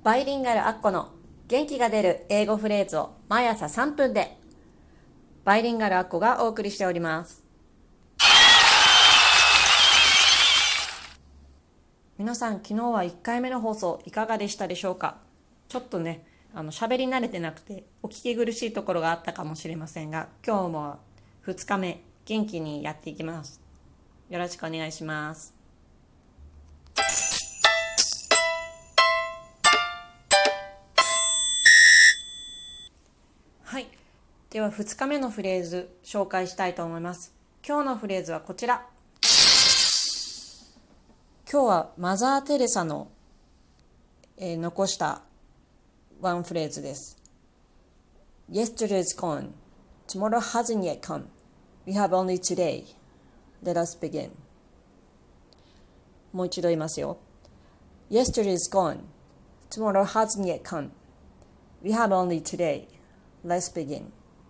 バイリンガルアッコの元気が出る英語フレーズを毎朝3分で。バイリンガルアッコがお送りしております。皆さん、昨日は1回目の放送いかがでしたでしょうか。ちょっとね、喋り慣れてなくてお聞き苦しいところがあったかもしれませんが、今日も2日目元気にやっていきます。よろしくお願いします。はい、では2日目のフレーズ紹介したいと思います。今日のフレーズはこちら。今日はマザー・テレサの、残したワンフレーズです。 Yesterday's gone, tomorrow hasn't yet come, we have only today, let us begin。 もう一度言いますよ。 Yesterday's gone, tomorrow hasn't yet come, we have only today, let's begin。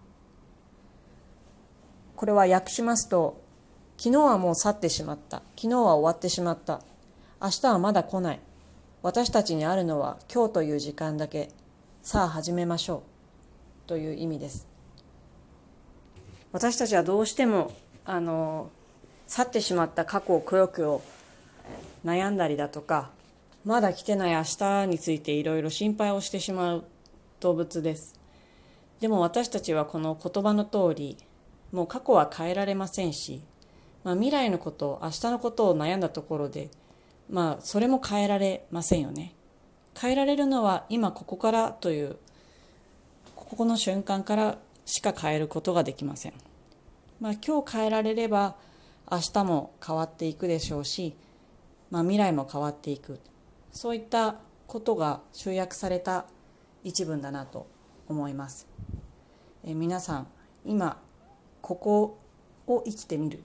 これは訳しますと、昨日はもう去ってしまった、昨日は終わってしまった、明日はまだ来ない、私たちにあるのは今日という時間だけ、さあ始めましょうという意味です。私たちはどうしても去ってしまった過去をくよくよ悩んだりだとか、まだ来てない明日についていろいろ心配をしてしまう動物です。でも私たちはこの言葉の通り、もう過去は変えられませんし、未来のこと、明日のことを悩んだところで、それも変えられませんよね。変えられるのは今ここからという、ここの瞬間からしか変えることができません。今日変えられれば明日も変わっていくでしょうし、未来も変わっていく、そういったことが集約された一文だなと思います。皆さん、今ここを生きてみる、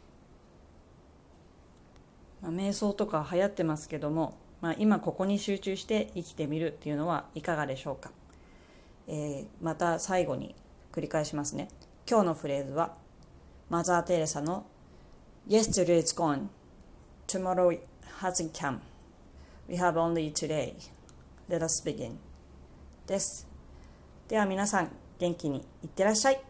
瞑想とか流行ってますけども、今ここに集中して生きてみるっていうのはいかがでしょうか。また最後に繰り返しますね。今日のフレーズはマザー・テレサの Yesterday's gone, tomorrow hasn't come, we have only today, let us begin です。では皆さん、元気にいってらっしゃい。